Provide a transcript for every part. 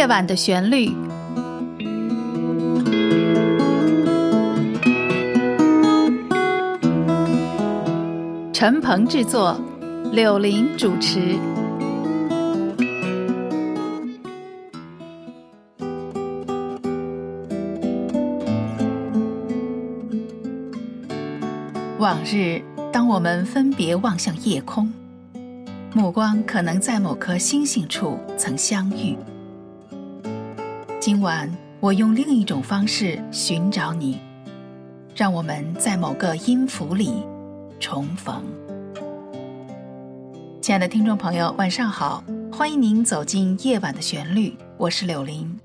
夜晚的旋律。陈鹏制作，柳林主持。往日，当我们分别望向夜空，目光可能在某颗星星处曾相遇。今晚，我用另一种方式寻找你，让我们在某个音符里重逢。亲爱的听众朋友，晚上好，欢迎您走进夜晚的旋律，我是柳林。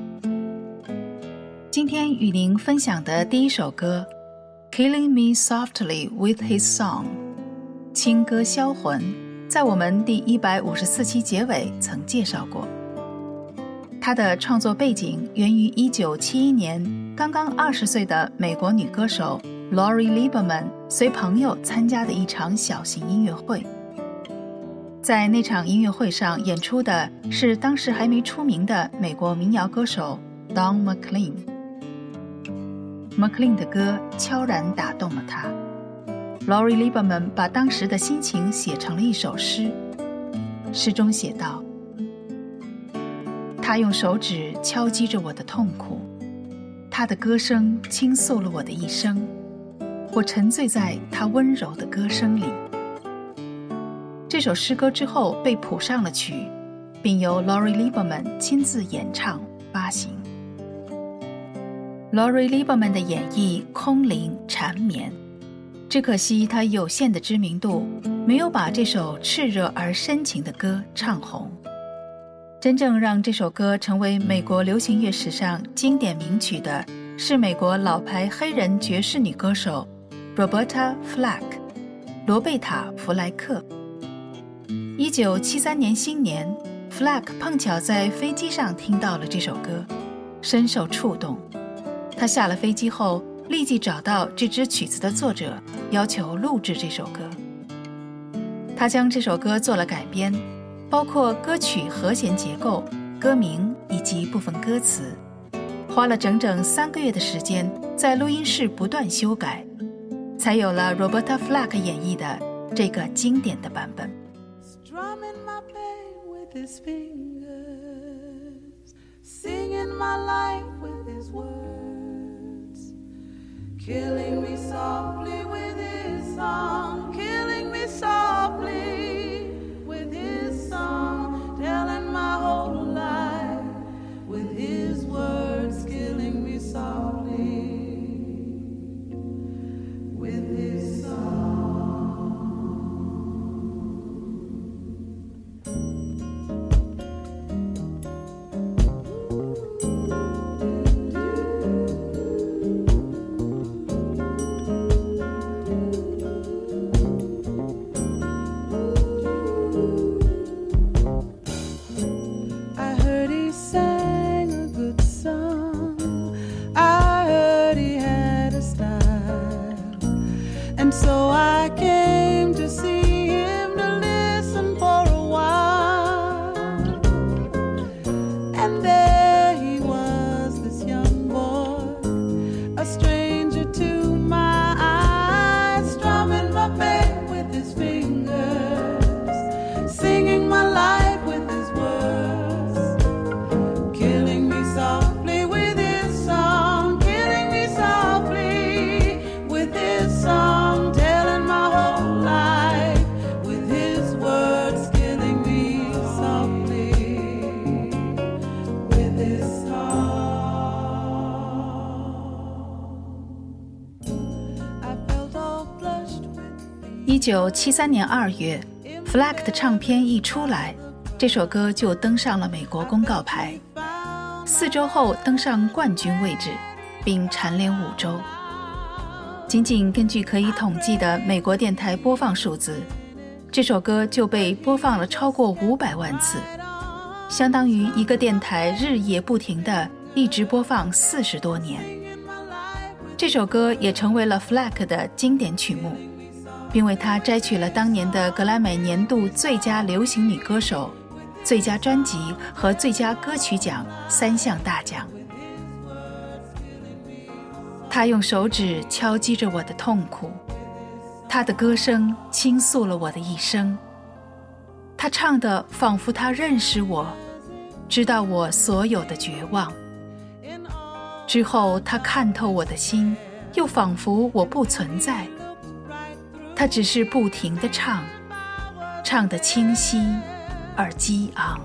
今天与您分享的第一首歌Killing Me Softly with His Song 轻歌销魂，在我们第154期结尾曾介绍过。他的创作背景源于1971年刚刚20岁的美国女歌手 Lori Lieberman 随朋友参加的一场小型音乐会。在那场音乐会上演出的是当时还没出名的美国民谣歌手 Don McLean。McLean 的歌悄然打动了他。Lori Lieberman 把当时的心情写成了一首诗，诗中写道：他用手指敲击着我的痛苦，他的歌声倾诉了我的一生，我沉醉在他温柔的歌声里。这首诗歌之后被谱上了曲，并由 Lori Lieberman 亲自演唱发行。Lori Lieberman 的演绎空灵缠绵，只可惜她有限的知名度没有把这首炽热而深情的歌唱红。真正让这首歌成为美国流行乐史上经典名曲的是美国老牌黑人爵士女歌手 Roberta Flack 罗贝塔·弗莱克。1973年新年， Flack 碰巧在飞机上听到了这首歌，深受触动。他下了飞机后立即找到这支曲子的作者，要求录制这首歌。他将这首歌做了改编，包括歌曲和弦结构、歌名以及部分歌词，花了整整3个月的时间在录音室不断修改，才有了 Roberta Flack 演绎的这个经典的版本。 Strumming my pain with his fingers, singing my life with his words, killing me softly with his song, killing me softly with his song, telling my whole life with his words, killing me softly with his song. 1973年2月 Flack 的唱片一出来，这首歌就登上了美国公告牌，4周后登上冠军位置，并蝉联5周。仅仅根据可以统计的美国电台播放数字，这首歌就被播放了超过500万次，相当于一个电台日夜不停地一直播放40多年。这首歌也成为了 Flack 的经典曲目，并为他摘取了当年的格莱美年度最佳流行女歌手， 最佳专辑和最佳歌曲奖3项大奖。他用手指敲击着我的痛苦，他的歌声倾诉了我的一生。他唱得仿佛他认识我，知道我所有的绝望。之后他看透我的心，又仿佛我不存在。他只是不停地唱，唱得清晰而激昂。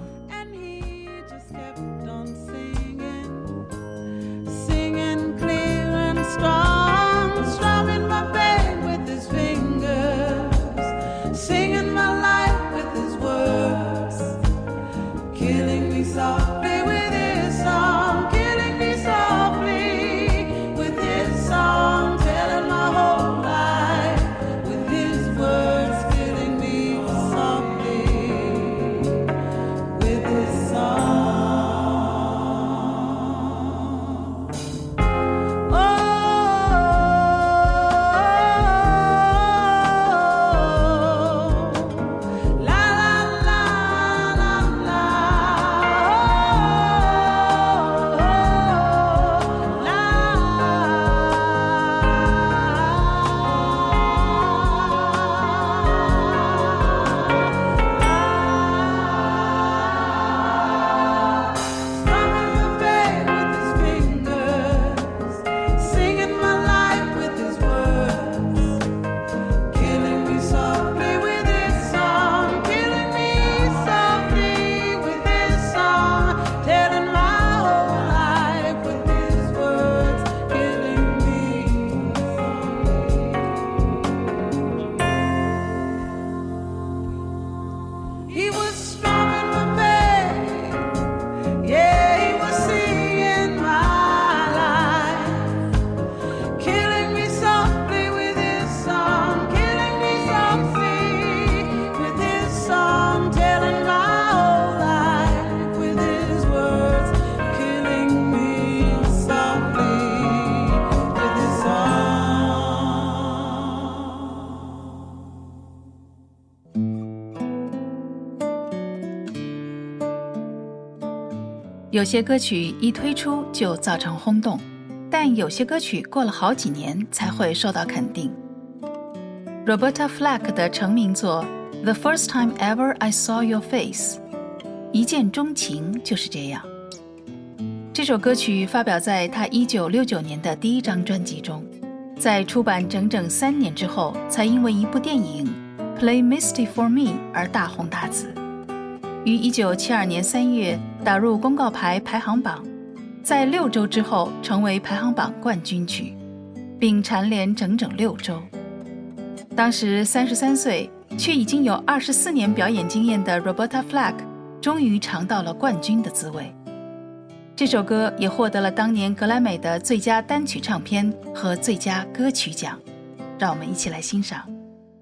有些歌曲一推出就造成轰动，但有些歌曲过了好几年才会受到肯定。Roberta Flack 的成名作 The First Time Ever I Saw Your Face 一见钟情就是这样。这首歌曲发表在他1969年的第一张专辑中，在出版整整3年之后，才因为一部电影 Play Misty for Me 而大红大紫。于1972年3月打入公告牌排行榜，在6周之后成为排行榜冠军曲，并蝉联整整6周。当时33岁却已经有24年表演经验的 Roberta Flack 终于尝到了冠军的滋味。这首歌也获得了当年格莱美的最佳单曲唱片和最佳歌曲奖，让我们一起来欣赏。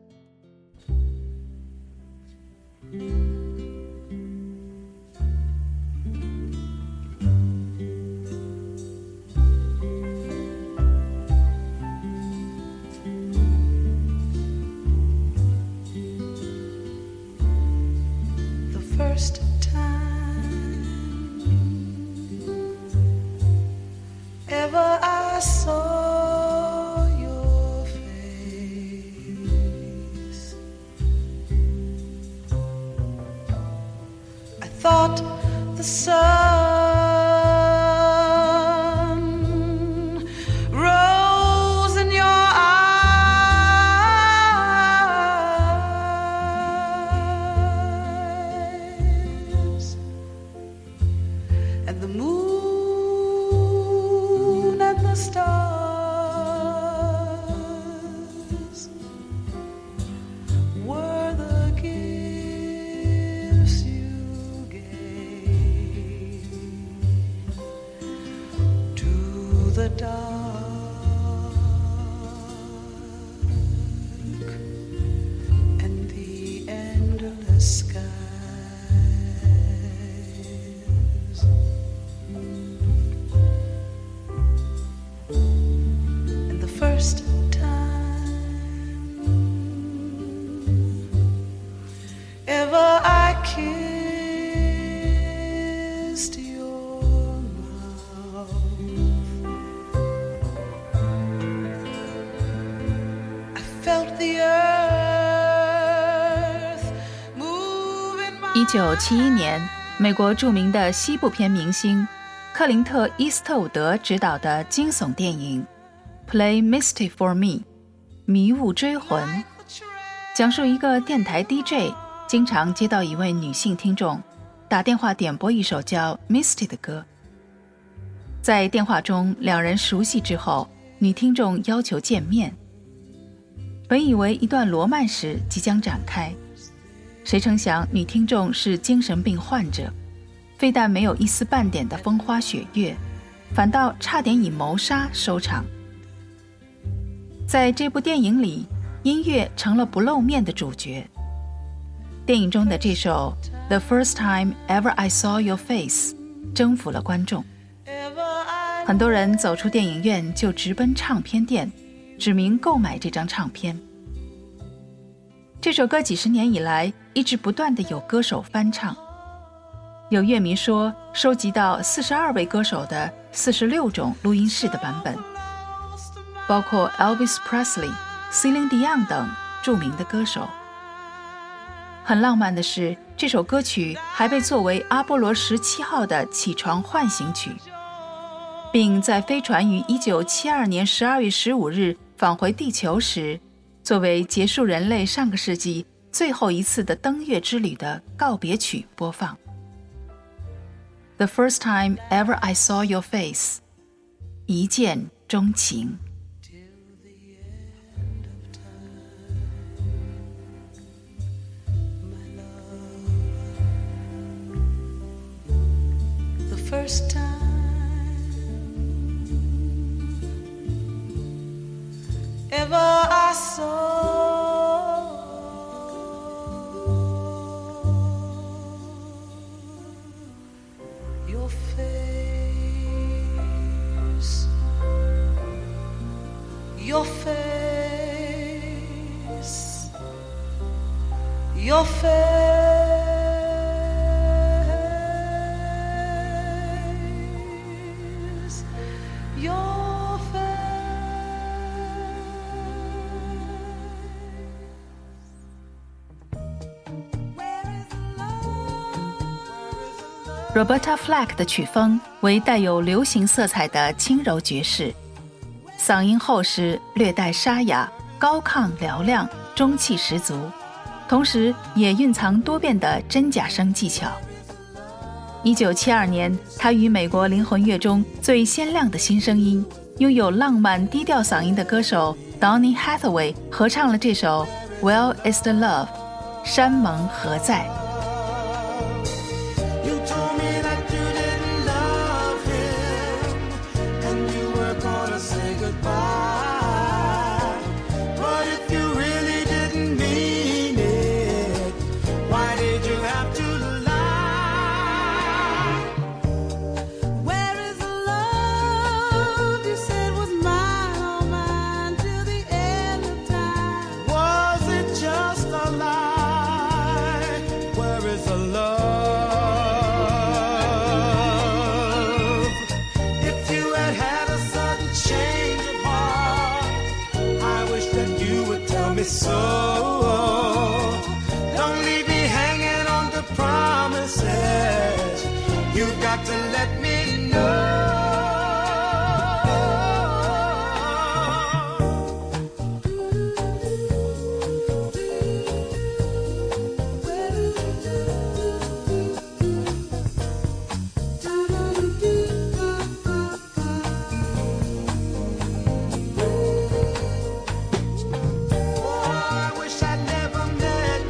First time ever I saw your face, I thought the sun rose in your eyes, and the moon and the stars were the gifts you gave. felt the earth move in my 1971年，美国著名的西部片明星克林特·伊斯特伍德执导的惊悚电影《Play Misty for Me》迷雾追魂，讲述一个电台 DJ 经常接到一位女性听众打电话点播一首叫 Misty 的歌。在电话中两人熟悉之后，女听众要求见面。本以为一段罗曼史即将展开，谁成想女听众是精神病患者，非但没有一丝半点的风花雪月，反倒差点以谋杀收场。在这部电影里，音乐成了不露面的主角。电影中的这首 The First Time Ever I Saw Your Face 征服了观众，很多人走出电影院就直奔唱片店，指明购买这张唱片。这首歌几十年以来一直不断地有歌手翻唱，有乐迷说收集到42位歌手的46种录音室的版本，包括 Elvis Presley、Celine Dion 等著名的歌手。很浪漫的是，这首歌曲还被作为阿波罗17号的起床唤醒曲，并在飞船于1972年12月15日返回地球时，作为结束人类上个世纪最后一次的登月之旅的告别曲播放。The first time ever I saw your face， 一见钟情。 First time ever I saw your face, your face, your face. Roberta Flack 的曲风为带有流行色彩的轻柔爵士，嗓音厚实，略带沙哑，高亢嘹亮，中气十足，同时也蕴藏多变的真假声技巧。1972年，她与美国灵魂乐中最鲜亮的新声音，拥有浪漫低调嗓音的歌手 Donny Hathaway 合唱了这首 Where is the Love， 山盟何在。 So don't leave me hanging on to promises. You got to let me know.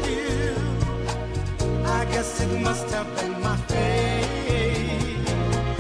It must have been my fate.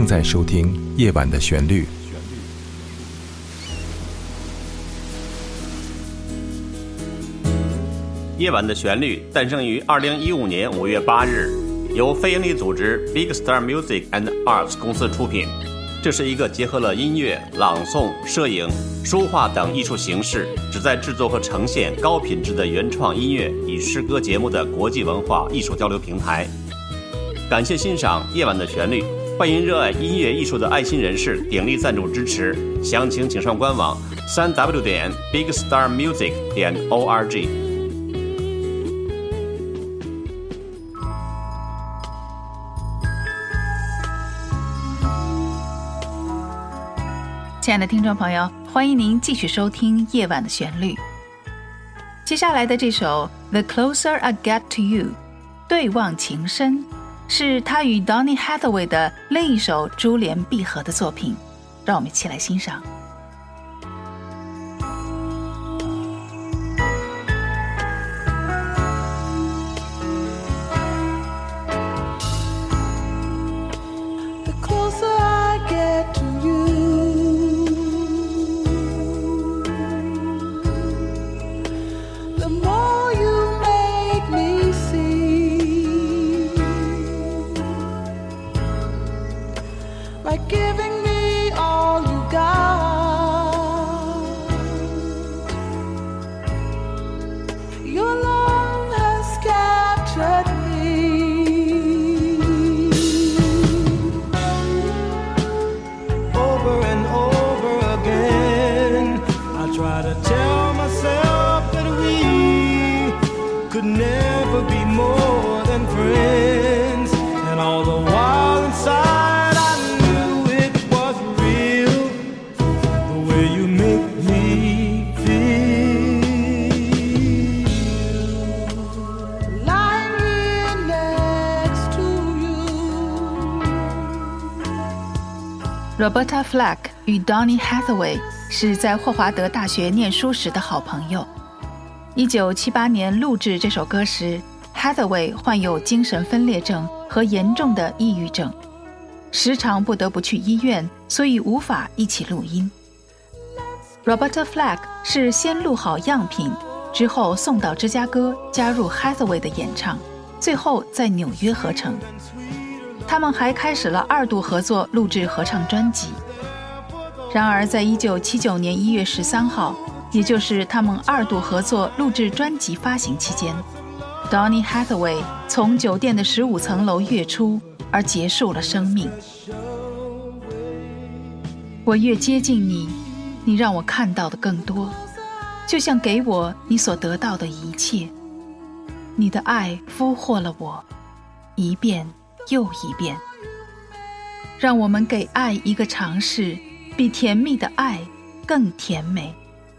在收听夜晚的旋律。 夜晚的旋律诞生于2015年5月8日，由非营利组织 Big Star Music and Arts 公司出品。这是一个结合了音乐、朗诵、摄影、书画等艺术形式，旨在制作和呈现高品质的原创音乐与诗歌节目的国际文化艺术交流平台。感谢欣赏夜晚的旋律，欢迎热爱音乐艺术的爱心人士鼎力赞助支持，详情请上官网3w.bigstarmusic.org。 亲爱的听众朋友，欢迎您继续收听夜晚的旋律。接下来的这首 The Closer I Get to You 对望情深，是他与 Donny Hathaway 的另一首珠联璧合的作品，让我们一起来欣赏。 Giving me all you got. Your love has captured me. Over and over again, I try to tell myself that we could never be more than friends, and all the while inside Roberta Flack 与 Donny Hathaway 是在霍华德大学念书时的好朋友。1978年录制这首歌时， Hathaway 患有精神分裂症和严重的抑郁症，时常不得不去医院，所以无法一起录音。Roberta Flack 是先录好样品，之后送到芝加哥加入 Hathaway 的演唱，最后在纽约合成。他们还开始了2度合作录制合唱专辑。然而在1979年1月13号，也就是他们2度合作录制专辑发行期间， Donny Hathaway 从酒店的15层楼跃出，而结束了生命。我越接近你，你让我看到的更多，就像给我你所得到的一切。你的爱俘获了我，一遍又一遍。让我们给爱一个尝试，比甜蜜的爱更甜美。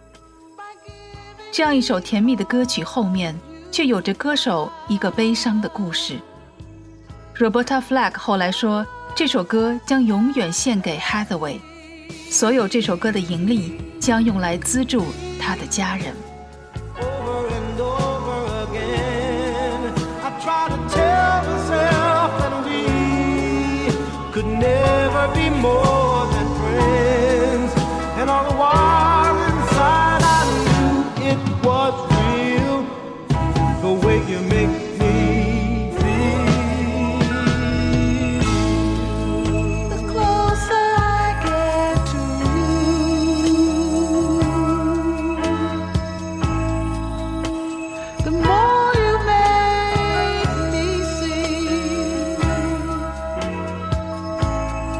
这样一首甜蜜的歌曲后面，却有着歌手一个悲伤的故事。Roberta Flack 后来说，这首歌将永远献给 Hathaway， 所有这首歌的盈利将用来资助他的家人。 Could never be more than friends, and all the while inside I knew it was real, the way you make me feel. The closer I get to you, the more you make me see.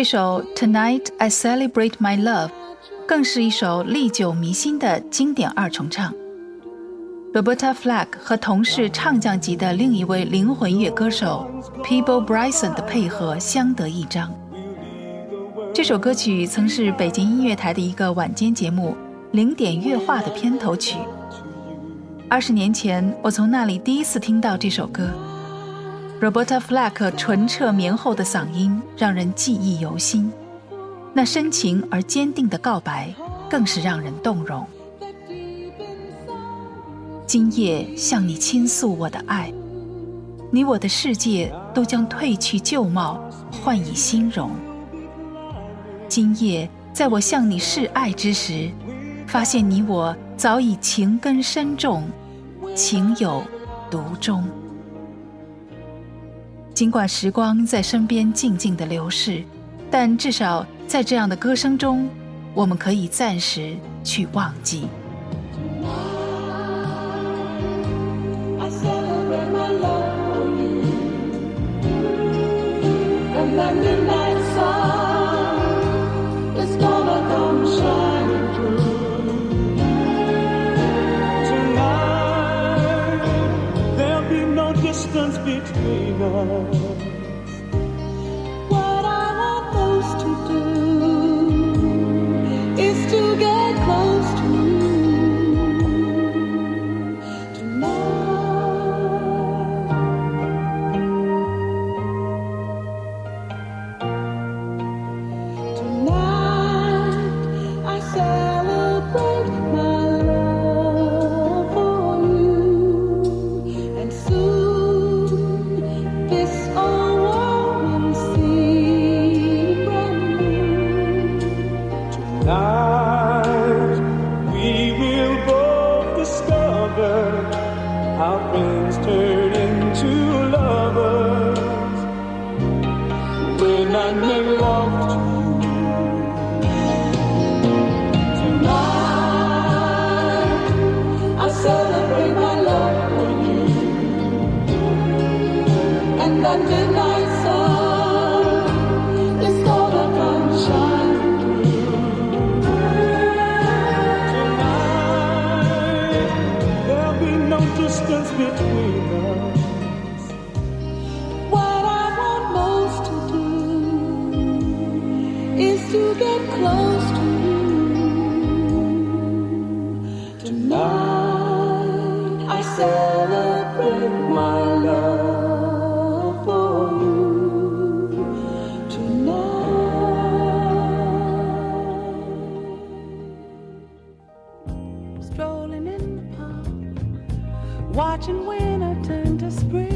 这首 Tonight I Celebrate My Love 更是一首历久弥新的经典二重唱。Roberta Flack 和同是唱将级的另一位灵魂乐歌手 Peabo Bryson 的配合相得益彰。这首歌曲曾是北京音乐台的一个晚间节目零点乐话的片头曲。20年前，我从那里第一次听到这首歌。Roberta Flack 纯澈绵厚的嗓音让人记忆犹新，那深情而坚定的告白更是让人动容。今夜向你倾诉我的爱，你我的世界都将褪去旧貌，换以新容。今夜在我向你示爱之时，发现你我早已情根深重，情有独钟。尽管时光在身边静静地流逝，但至少在这样的歌声中，我们可以暂时去忘记。 Distance between us. What I want most to do is to get close to you tonight. Tonight I celebrate my love for you, and soon Tonight, we will both discover how friends turn into lovers when I make love to you. Tonight, I celebrate my love for you, and the midnight sun is gonna come shine. Distance between us. What I want most to do is to get close to you tonight. I celebrate my love for you tonight. Strolling in the park, watching winter turn to spring.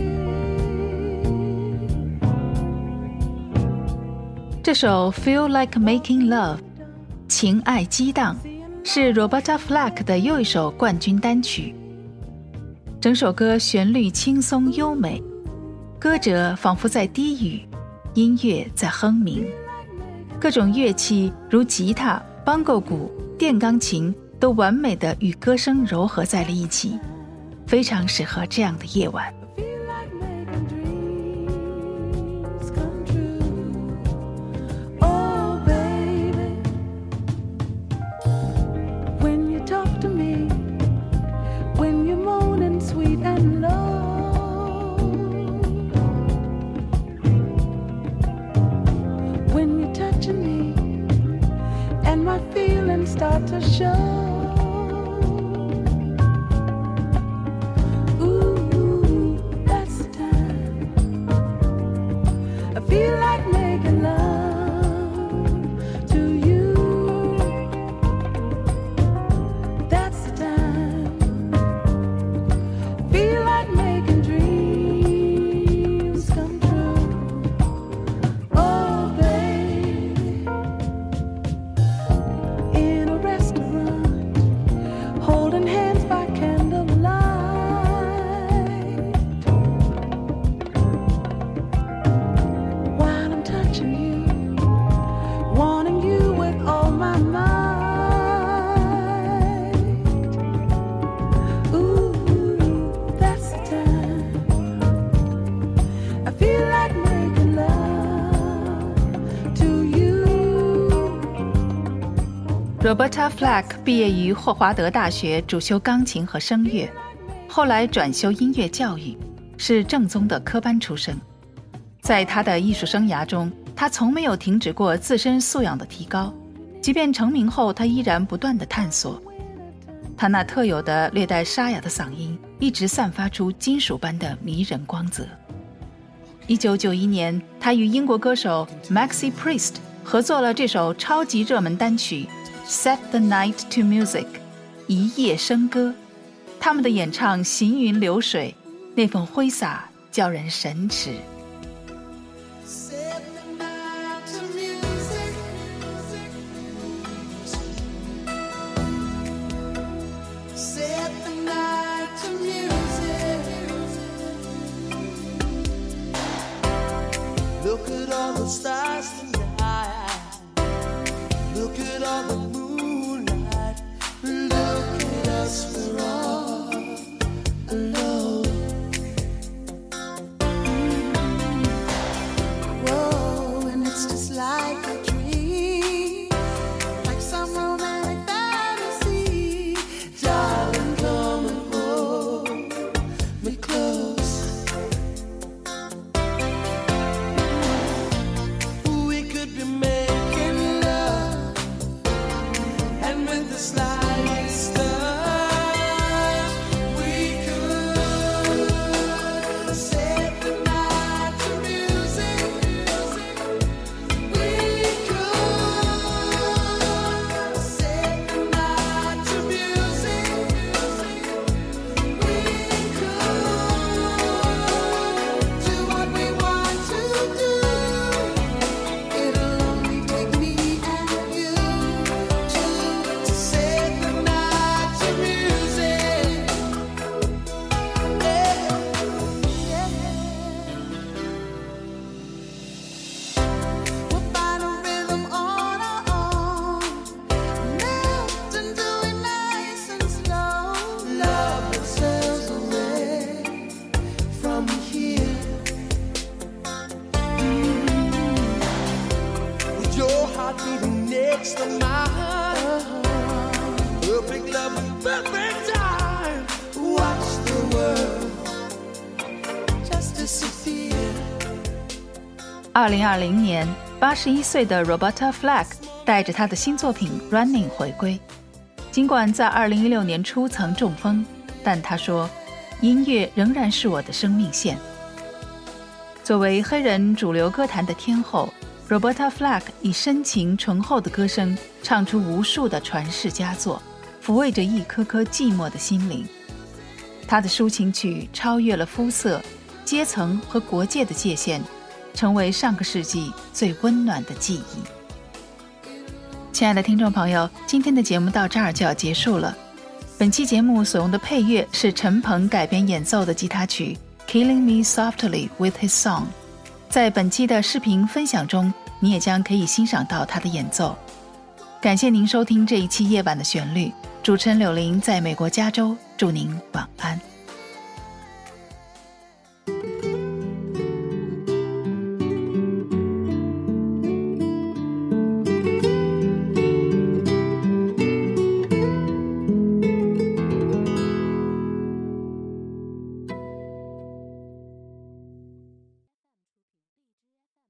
这首 Feel Like Making Love 情爱激荡是 Roberta Flack 的又一首冠军单曲。整首歌旋律轻松优美，歌者仿佛在低语，音乐在哼鸣，各种乐器如吉他、邦够鼓、电钢琴都完美地与歌声糅合在了一起，非常适合这样的夜晚。 Start to show. Ooh, that's the time I feel like making love to you. That's the time I feel like making dreams come true. Oh, baby, in a restaurant, holding hands by candlelight, while Roberta Flack 毕业于霍华德大学，主修钢琴和声乐，后来转修音乐教育，是正宗的科班出身。在他的艺术生涯中，他从没有停止过自身素养的提高，即便成名后，他依然不断地探索。他那特有的略带沙哑的嗓音一直散发出金属般的迷人光泽。1991年，他与英国歌手 Maxi Priest 合作了这首超级热门单曲 Set the Night to Music 一夜笙歌。他们的演唱行云流水，那份挥洒叫人神驰。 Look at all the stars tonight. Look at all the moonlight. Look at us, we're all alone. Whoa, and it's just like a dream, like some romantic fantasy. Darling, come and hold me cause.Beating next to mine, perfect love, perfect time. Watch the world just disappear. 2020年，81岁的 Roberta Flack 带着她的新作品 Running 回归。尽管在2016年初曾中风，但她说，音乐仍然是我的生命线。作为黑人主流歌坛的天后，Roberta Flack 以深情醇厚的歌声唱出无数的传世佳作，抚慰着一颗颗寂寞的心灵。她的抒情曲超越了肤色、阶层和国界的界限，成为上个世纪最温暖的记忆。亲爱的听众朋友，今天的节目到这儿就要结束了。本期节目所用的配乐是陈鹏改编演奏的吉他曲 Killing Me Softly with His Song。在本期的视频分享中，你也将可以欣赏到他的演奏。感谢您收听这一期夜晚的旋律，主持人柳玲在美国加州，祝您晚安。